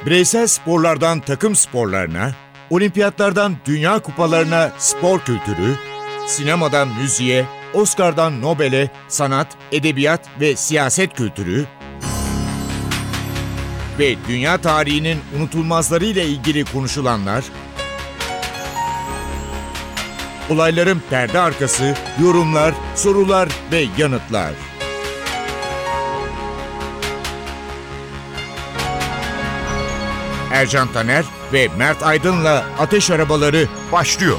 Bireysel sporlardan takım sporlarına, olimpiyatlardan dünya kupalarına spor kültürü, sinemadan müziğe, Oscar'dan Nobel'e sanat, edebiyat ve siyaset kültürü ve dünya tarihinin unutulmazlarıyla ilgili konuşulanlar, olayların perde arkası, yorumlar, sorular ve yanıtlar. Ercan Taner ve Mert Aydın'la Ateş Arabaları başlıyor.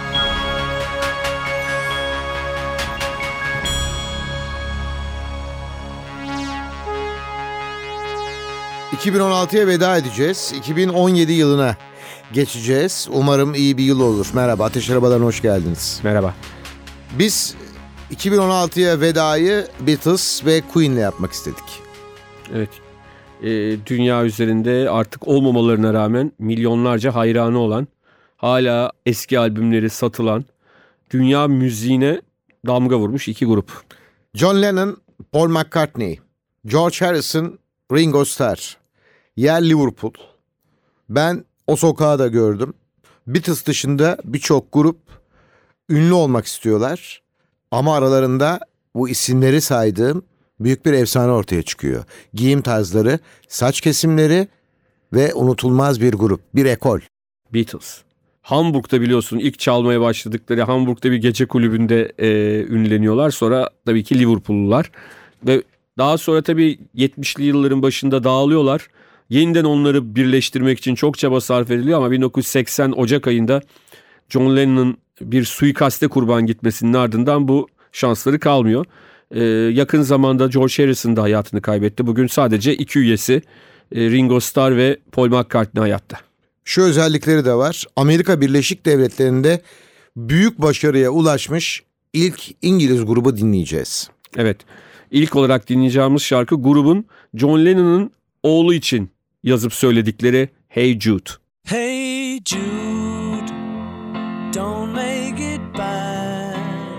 ...2016'ya veda edeceğiz. 2017 yılına geçeceğiz. Umarım iyi bir yıl olur. Merhaba, Ateş Arabaları'na hoş geldiniz. Merhaba. Biz 2016'ya vedayı Beatles ve Queen'le yapmak istedik. Evet. Dünya üzerinde artık olmamalarına rağmen milyonlarca hayranı olan, hala eski albümleri satılan, dünya müziğine damga vurmuş iki grup. John Lennon, Paul McCartney, George Harrison, Ringo Starr. Yer Liverpool. Ben o sokağı da gördüm. Beatles dışında birçok grup ünlü olmak istiyorlar. Ama aralarında bu isimleri saydığım büyük bir efsane ortaya çıkıyor. Giyim tarzları, saç kesimleri ve unutulmaz bir grup, bir ekol. Beatles. Hamburg'da biliyorsun ilk çalmaya başladıkları Hamburg'da bir gece kulübünde ünleniyorlar. Sonra tabii ki Liverpool'lular. Ve daha sonra tabii 70'li yılların başında dağılıyorlar. Yeniden onları birleştirmek için çok çaba sarf ediliyor ama 1980 Ocak ayında John Lennon'ın bir suikaste kurban gitmesinin ardından bu şansları kalmıyor. Yakın zamanda George Harrison da hayatını kaybetti. Bugün sadece iki üyesi Ringo Starr ve Paul McCartney hayatta. Şu özellikleri de var. Amerika Birleşik Devletleri'nde büyük başarıya ulaşmış ilk İngiliz grubu dinleyeceğiz. Evet. İlk olarak dinleyeceğimiz şarkı grubun John Lennon'ın oğlu için yazıp söyledikleri Hey Jude. Hey Jude, don't make it bad.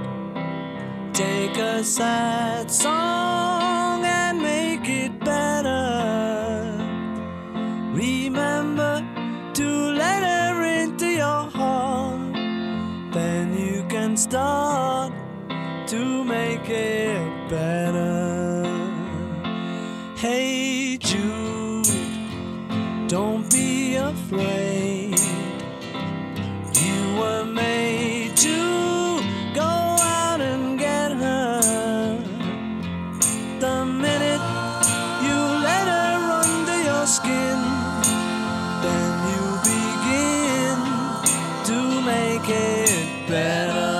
Take a sad song and make it better. Remember to let her into your heart. Then you can start to make it better. Hey Jude, don't be afraid. You were made to go out and get her. The minute you let her under your skin, then you begin to make it better.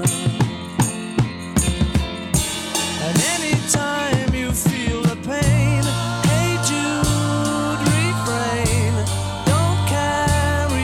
And anytime you feel the pain, hey Jude, refrain. Don't carry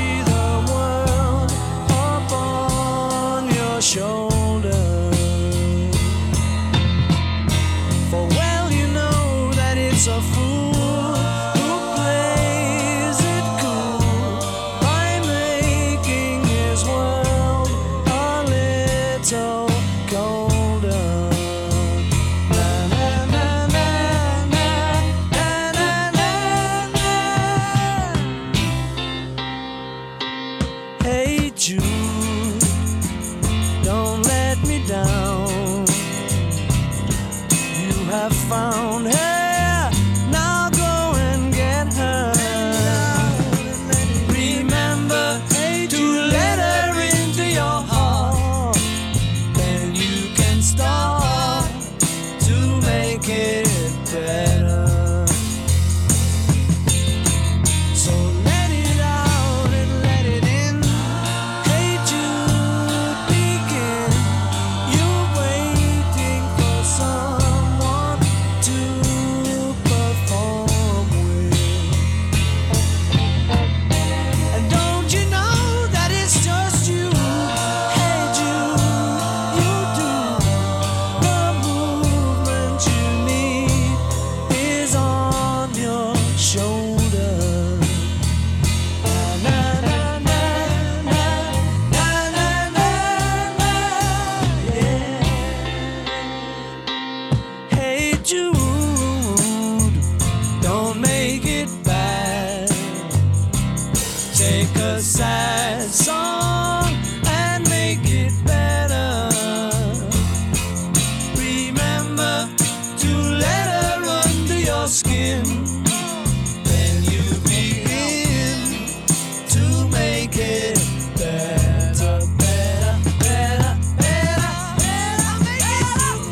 skin. Then you begin to make it better, better, better, better, better, make it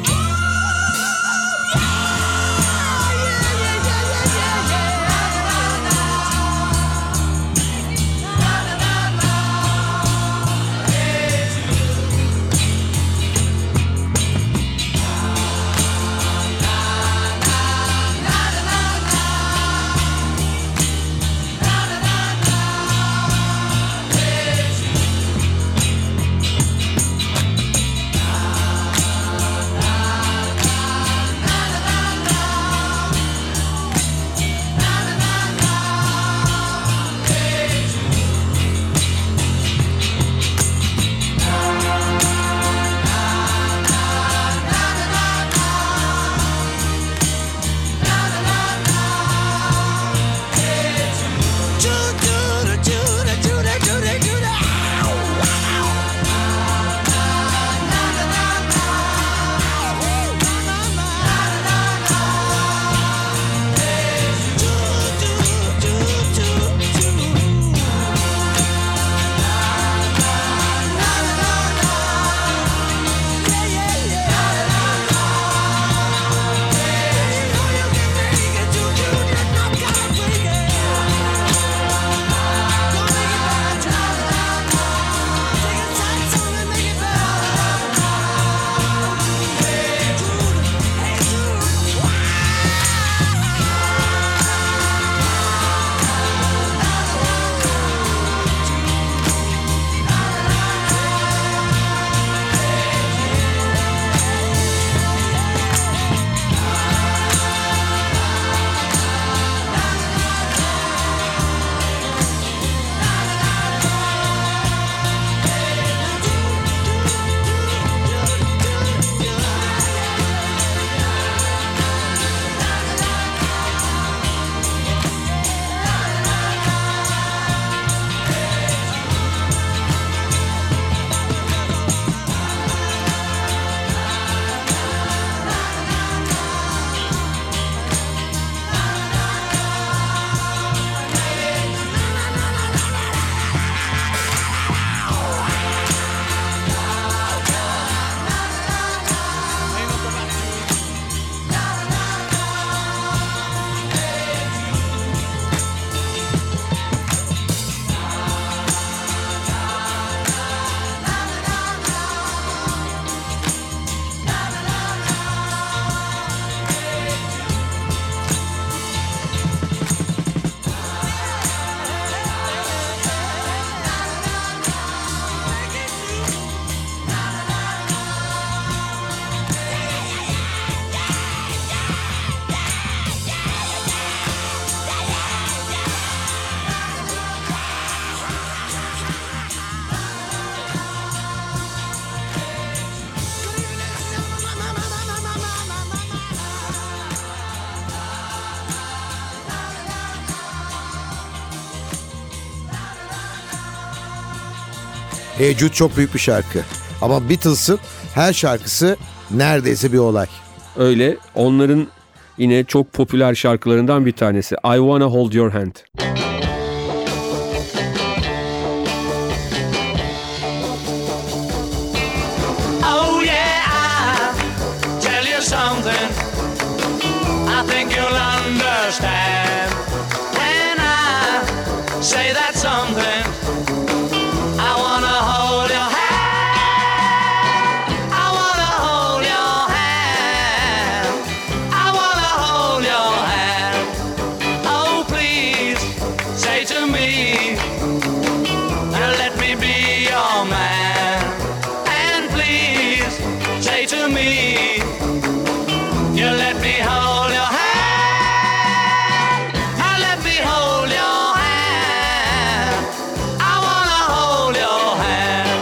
Hey Jude çok büyük bir şarkı. Ama Beatles'ın her şarkısı neredeyse bir olay. Öyle, onların yine çok popüler şarkılarından bir tanesi. I Wanna Hold Your Hand. Oh yeah, I'll tell you something I think you'll understand when I say that something. I wanna hold your hand. I wanna hold your hand. I wanna hold your hand. Oh please, say to me, let me be your man. And please, say to me, you let me hold your hand. Let me hold your hand. I wanna hold your hand.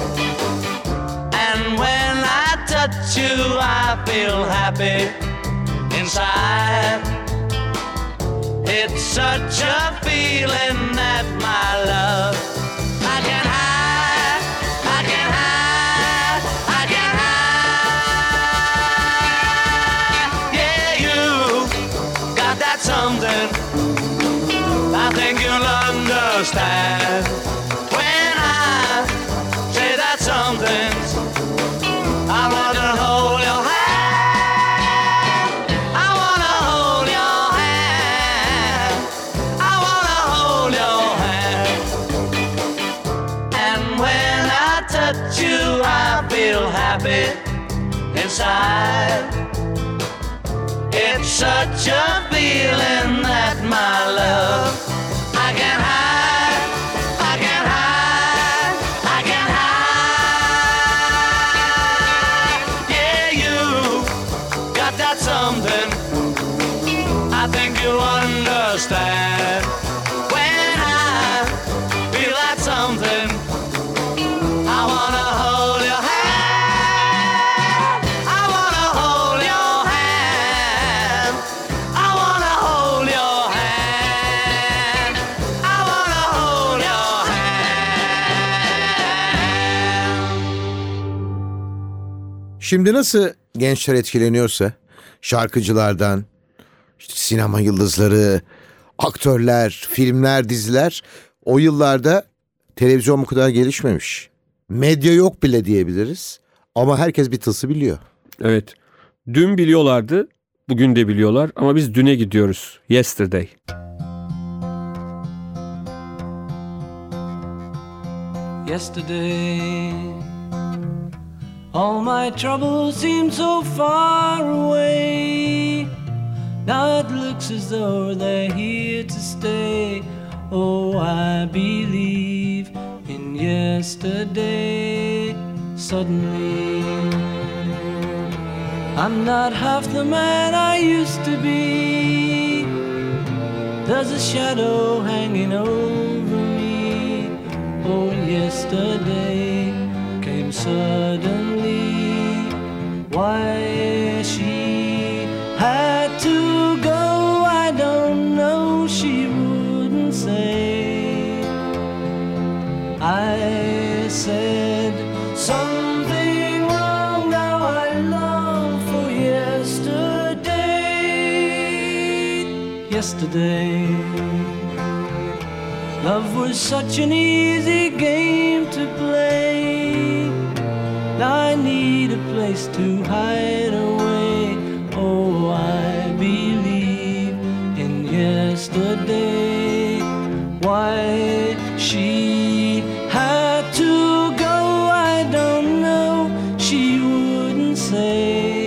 And when I touch you, I feel happy inside. It's such a feeling that my love I can hide, I can hide, I can hide. Yeah, you got something I think you'll understand when I say that something's I wanna hold your hand. I wanna hold your hand. I wanna hold your hand. And when I touch you, I feel happy inside. It's such a feeling that my love I can't hide, I can't hide, I can't hide. Yeah, you got that something I think you'll understand. When I feel that something, I wanna hold your hand. I wanna hold your hand. I wanna hold your hand. I wanna hold your hand. Şimdi nasıl gençler etkileniyorsa şarkıcılardan, işte sinema yıldızları, aktörler, filmler, diziler, o yıllarda televizyon bu kadar gelişmemiş. Medya yok bile diyebiliriz ama herkes Beatles'ı biliyor. Evet. Dün biliyorlardı, bugün de biliyorlar ama biz düne gidiyoruz. Yesterday. Yesterday, all my troubles seem so far away. Now it looks as though they're here to stay. Oh, I believe in yesterday. Suddenly, I'm not half the man I used to be. There's a shadow hanging over me. Oh, yesterday came suddenly. Why she had to go, I don't know, she wouldn't say. I said something wrong, now I long for yesterday. Yesterday, love was such an easy game to play. Now I need a place to hide away. Oh, I believe in yesterday. Why she had to go, I don't know, she wouldn't say.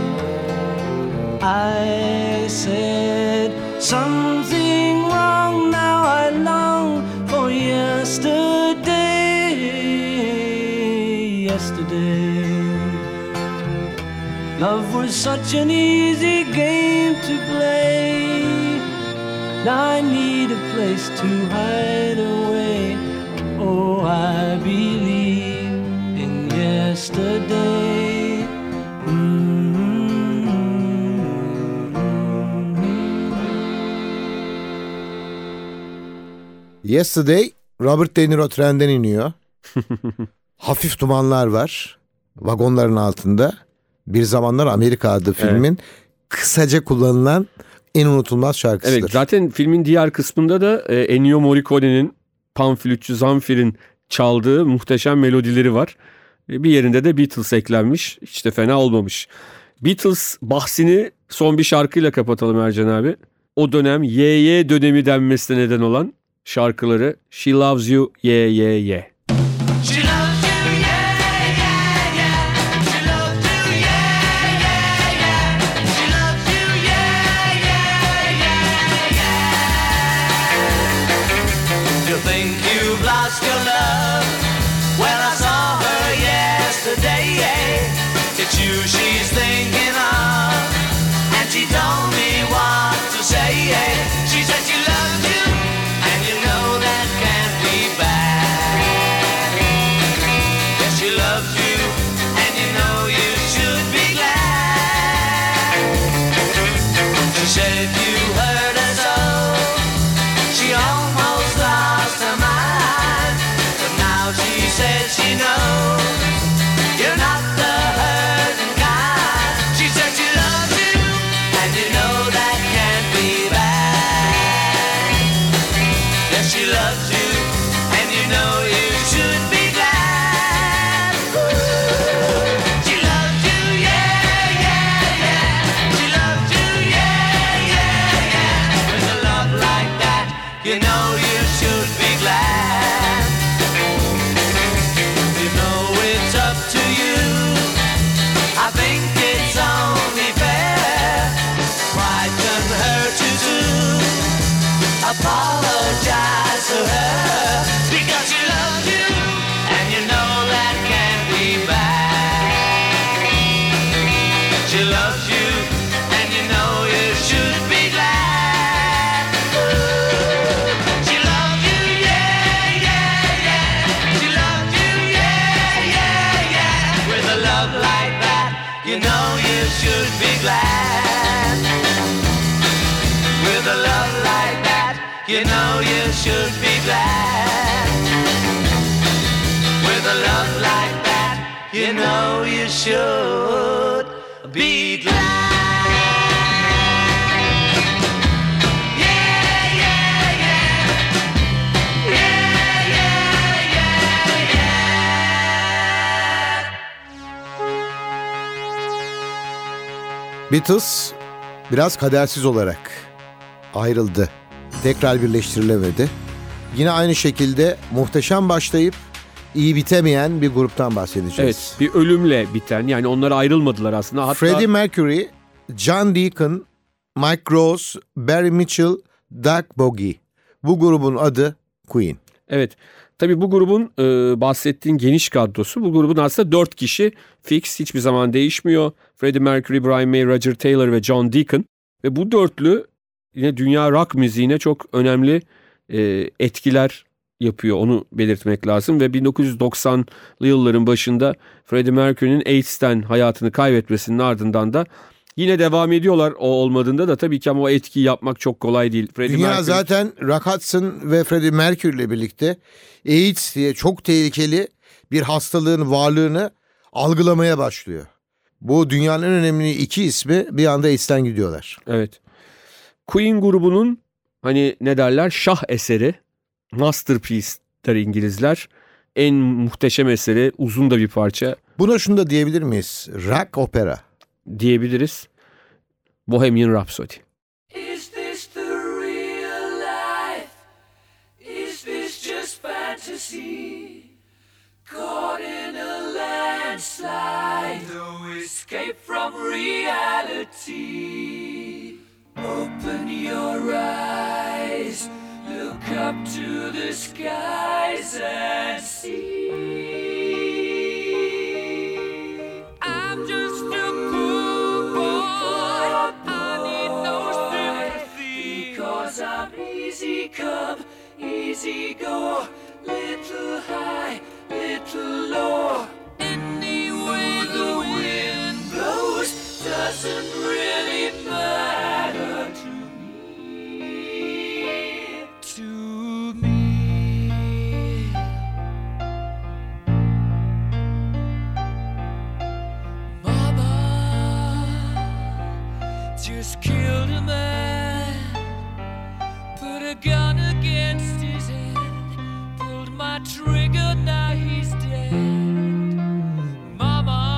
I said something wrong, now I long for yesterday. Yesterday, love was such an easy game to play. Now I need a place to hide away. Oh, I believe in yesterday. Yesterday, Robert De Niro trenden iniyor. Hafif dumanlar var vagonların altında. Bir Zamanlar Amerika adlı filmin kısaca kullanılan en unutulmaz şarkısıdır. Evet, zaten filmin diğer kısmında da Ennio Morricone'nin panflütçü Zamfir'in çaldığı muhteşem melodileri var. Bir yerinde de Beatles eklenmiş. Hiç de fena olmamış. Beatles bahsini son bir şarkıyla kapatalım Ercan abi. O dönem YY dönemi denmesine neden olan şarkıları She Loves You Yeah Yeah Yeah. She loves you, yeah, yeah, yeah. She loves you, yeah, yeah, yeah. She loves you, yeah, yeah, yeah, yeah. You think you've lost your love? Well, I saw her yesterday, yeah. It's you she's thinking of, and she told me what to say, yeah. She said she loves you, and you know that can't be bad. you know you should be glad. You know it's up to you. I think it's only fair. Pride can hurt you too. Apologize to her because she loves you, and you know that can't be bad. She loves you, and you know you should be glad. Ooh, she loves you, yeah, yeah, yeah. She loves you, yeah, yeah, yeah. With a love like that, you know you should be glad. With a love like that, you know you should be glad. With a love like that, you know you should be glad. Yeah, yeah, yeah. Yeah, yeah, yeah, yeah. Beatles biraz kadersiz olarak ayrıldı. Tekrar birleştirilemedi. Yine aynı şekilde muhteşem başlayıp iyi bitemeyen bir gruptan bahsedeceğiz. Evet, bir ölümle biten, yani onlar ayrılmadılar aslında. Hatta Freddie Mercury, John Deacon, Mike Rose, Barry Mitchell, Doug Bogie. Bu grubun adı Queen. evet, tabii bu grubun bahsettiğin geniş kadrosu. Bu grubun aslında 4 kişi fix, hiçbir zaman değişmiyor. Freddie Mercury, Brian May, Roger Taylor ve John Deacon. Ve bu dörtlü yine dünya rock müziğine çok önemli etkiler yapıyor, onu belirtmek lazım. Ve 1990'lı yılların başında Freddie Mercury'nin AIDS'ten hayatını kaybetmesinin ardından da yine devam ediyorlar. O olmadığında da tabii ki, ama o etkiyi yapmak çok kolay değil. Dünya zaten Rock Hudson ve Freddie Mercury ile birlikte AIDS diye çok tehlikeli bir hastalığın varlığını algılamaya başlıyor. Bu dünyanın en önemli iki ismi bir anda AIDS'ten gidiyorlar. Evet. Queen grubunun hani ne derler, şah eseri, masterpiece der İngilizler. En muhteşem eseri, uzun da bir parça Buna şunu da diyebilir miyiz? Rock opera. diyebiliriz. Bohemian Rhapsody. Is this the real life? Is this just fantasy? Caught in a landslide, no escape from reality. Open your eyes, look up to the skies and see. I'm just a poor boy, I need no sympathy, because I'm easy come, easy go, little high, little low. Any way the wind blows doesn't really matter to me, to me. Mama just killed a man, put a gun against his head, pulled my trigger, now he's dead. Mama,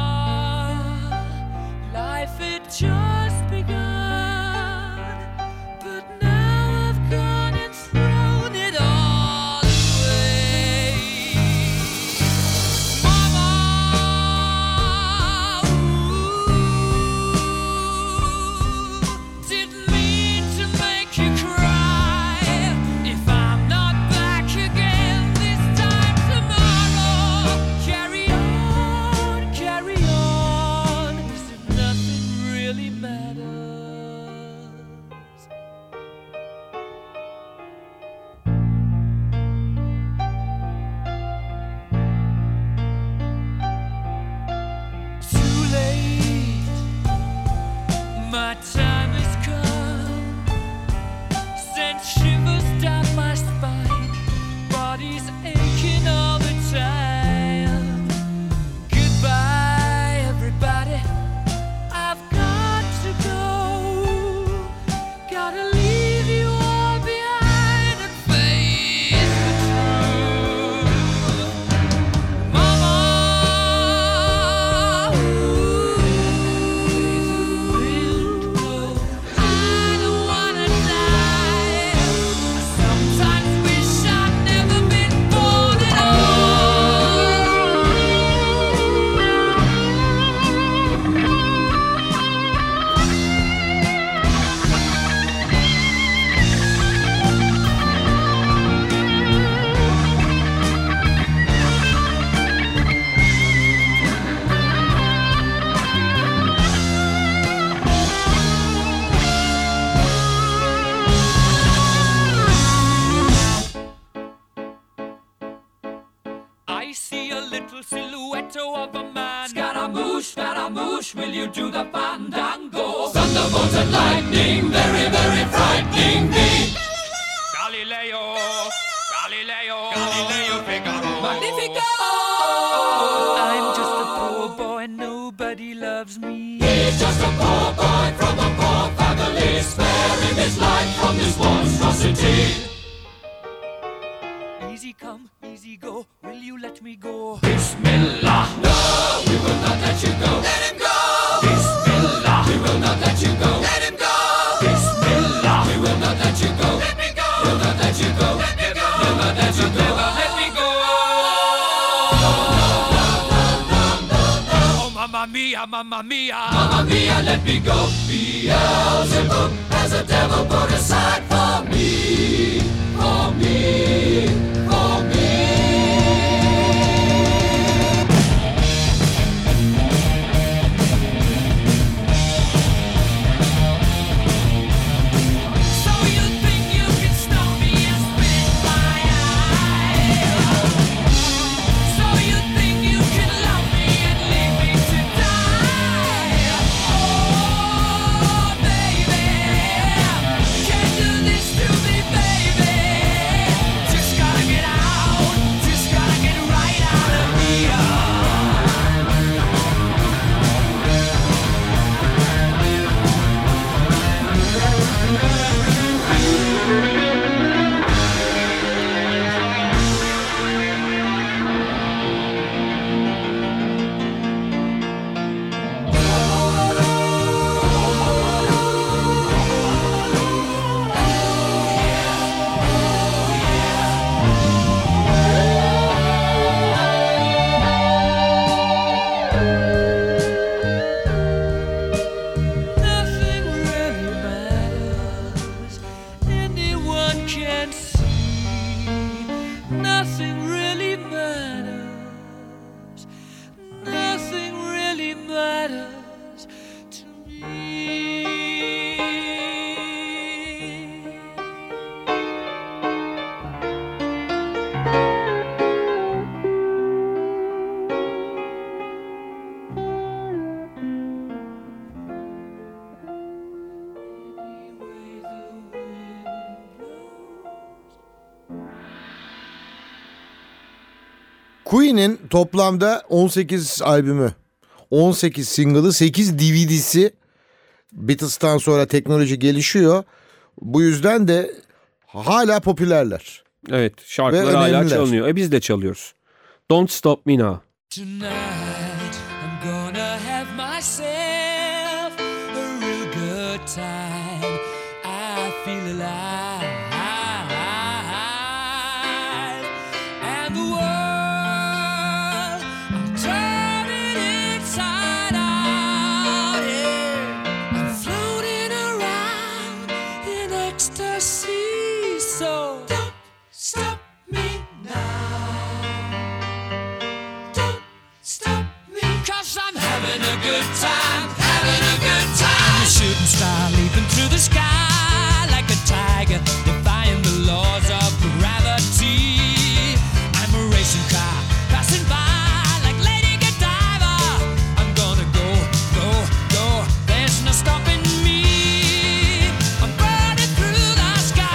life had just begun, but now I've gone and thrown it all away. Mama, ooh, didn't mean to make you cry. silhouette of a man. Scaramouche, will you do the fandango? Thunderbolt and lightning, very, very frightening me. Galileo, Figaro. Magnifico! I'm just a poor boy, nobody loves me. He's just a poor boy from a poor family, sparing his life from this monstrosity. Easy come, easy go, will you let me go? Bismillah, no, we will not let you go. Let him go! Bismillah, we will not let you go. Let him go! Bismillah, we will not let you go. Let me go! We'll not let you go. Let me go! Never let you go. Never let me go. Oh, mamma mia, mamma mia. Mamma mia, let me go. Beelzebub has a devil put aside for me. For me. For me. Queen'in toplamda 18 albümü, 18 single'ı, 8 DVD'si. Beatles'tan sonra teknoloji gelişiyor. Bu yüzden de hala popülerler. Evet, şarkılar hala çalınıyor. Biz de çalıyoruz. Don't Stop Me Now. Tonight I'm gonna have myself a real good time. I feel alive. And the world, I'll turn it inside out. Yeah. I'm floating around in ecstasy. So don't stop me now. Don't stop me, 'cause I'm having a good time, having a good time. I'm a shooting star leaping through the sky like a tiger, defying the laws of gravity. I'm a racing car passing by like Lady Godiva. I'm gonna go, go, go. There's no stopping me. I'm burning through the sky.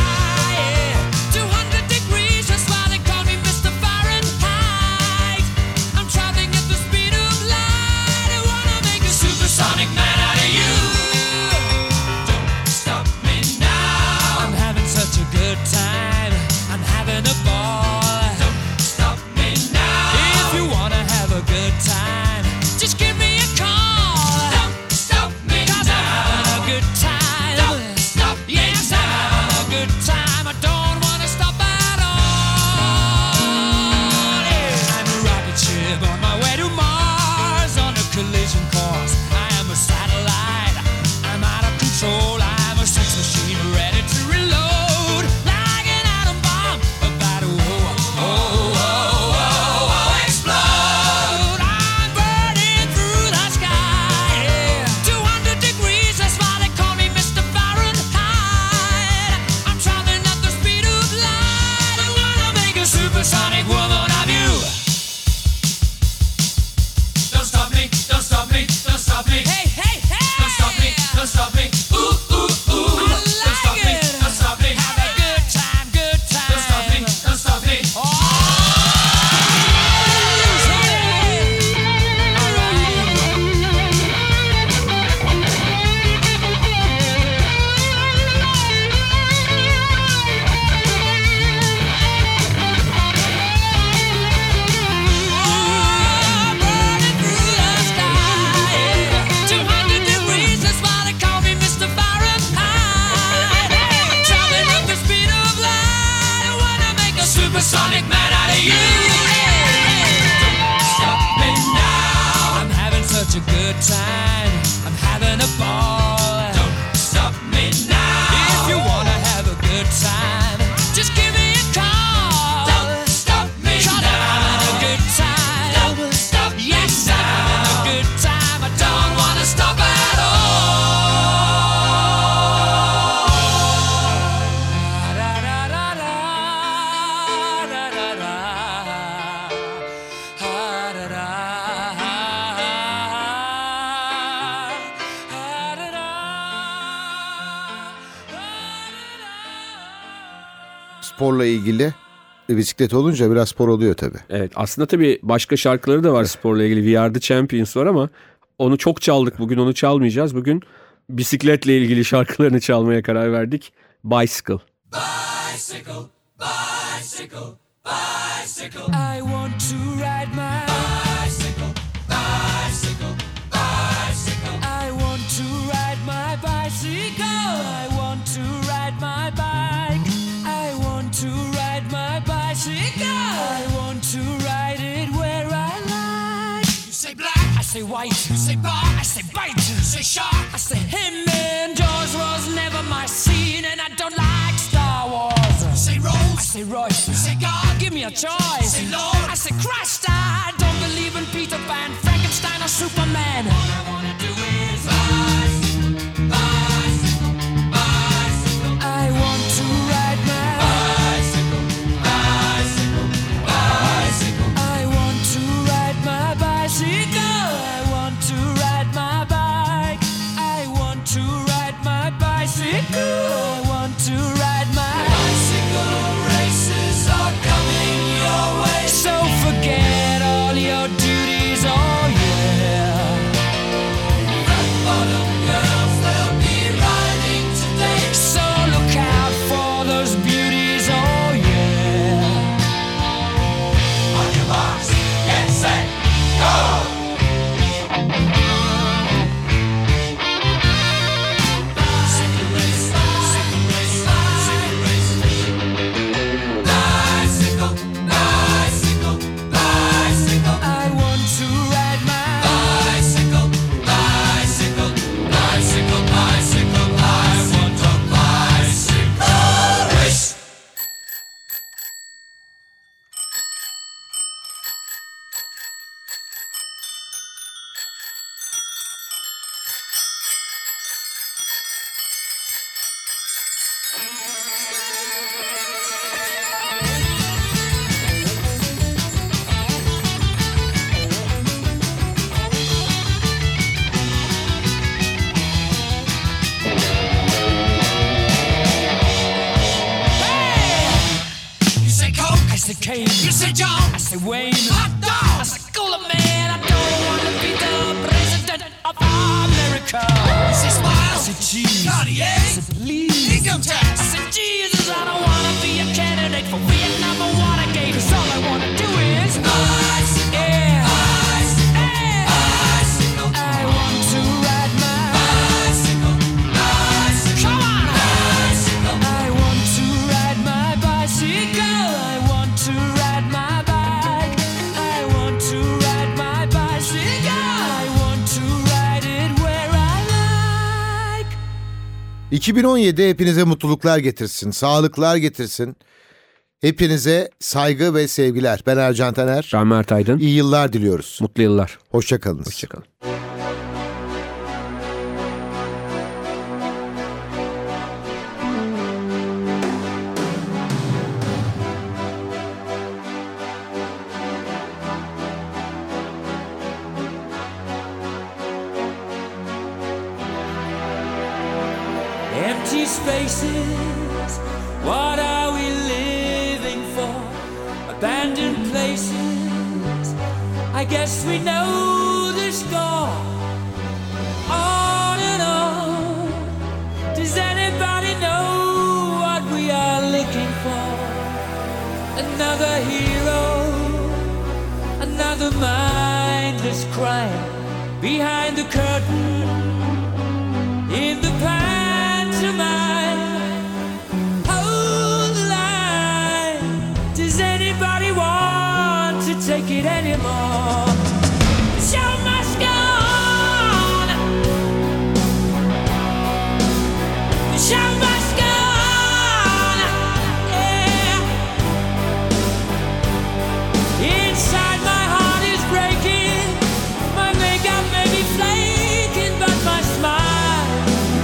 sporla ilgili. Bisiklet olunca biraz spor oluyor tabii. Evet, aslında tabii başka şarkıları da var sporla ilgili. We Are The Champions var ama onu çok çaldık. Bugün onu çalmayacağız. Bugün bisikletle ilgili şarkılarını çalmaya karar verdik. Bicycle. Bicycle, bicycle, bicycle. I want to ride my bicycle, bicycle, bicycle. I want to ride my bicycle. I want to ride my bike. I want to ride my bicycle. I want to ride it where I like. You say black, I say white. You say bar, I say bite. You say shark, I say him. And Jaws was never my scene, and I don't like Star Wars. You say Rose, I say Royce. You say God, give me a choice. You say Lord, I say Christ. I don't believe in Peter Pan, Frankenstein, or Superman. All I wanna do is bicycle, bicycle, bicycle. I want to ride my bicycle, bicycle, bicycle. I want to ride my bicycle. I want to ride my bike. I want to ride my bicycle. I want to ride my bicycle. Races are coming your way. So forget all your duties, oh yeah. Rock bottom girls, they'll be riding today. So look out for those beauties, oh yeah. On your marks, get set, go! You say John, I say Wayne, hot dog, I say cooler man. I don't want to be the president of America. I say smile, I say cheese, Cartier, I say please, income tax. I say Jesus, I don't want to be a candidate for Vietnam or Watergate. 'Cause all I want to do is bicycle, yeah, bicycle, bicycle. I want to ride my bicycle, bicycle. Come on, bicycle. I want to ride my bicycle. I want to ride my bike. I want to ride my bicycle. I want to ride it where I like. 2017 hepinize mutluluklar getirsin, sağlıklar getirsin. Hepinize saygı ve sevgiler. Ben Ercan Taner. Ben Mert Aydın. İyi yıllar diliyoruz. Mutlu yıllar. Hoşçakalınız. Hoşçakalın. Empty spaces, what are we living for? Abandoned places, I guess we know the score. On and on, does anybody know what we are looking for? Another hero, another mindless crime behind the curtain, in the pantomime. Hold the line. Does anybody want to take it anymore? The show must go on. The show must go on. Yeah. Inside my heart is breaking. My makeup may be flaking, but my smile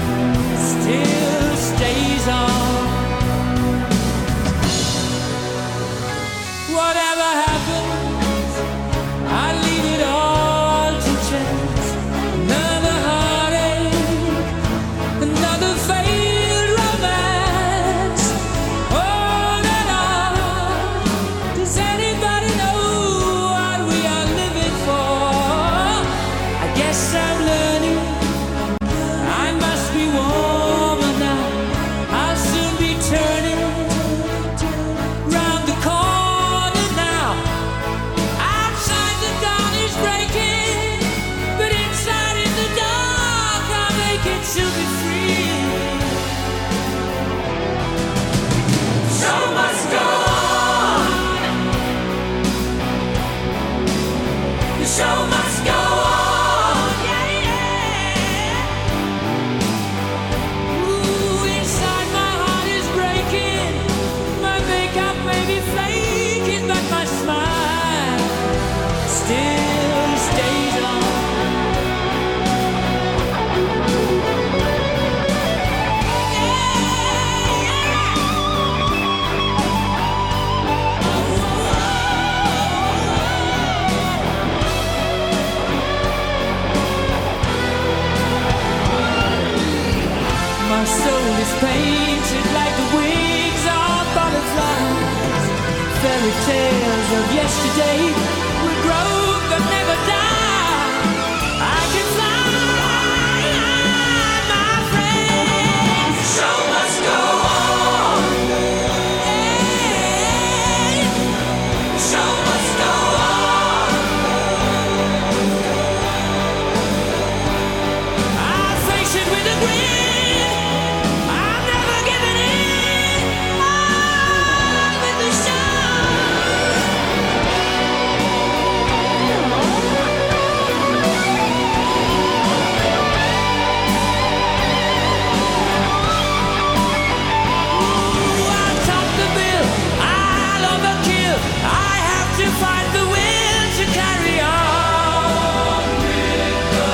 yesterday will grow but never die. I can fly, my friend. Show must go on. Hey, show must go on. I face it with a grin. I'm never giving in. On with the show. I'll top the bill, I'll overkill. I have to find the will to carry on with the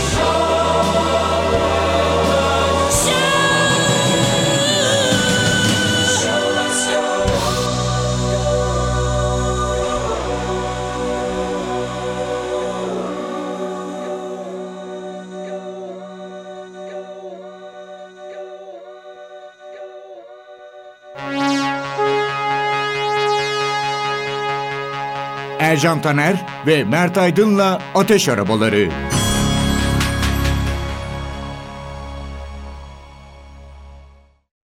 show must go Ercan Taner ve Mert Aydın'la Ateş Arabaları.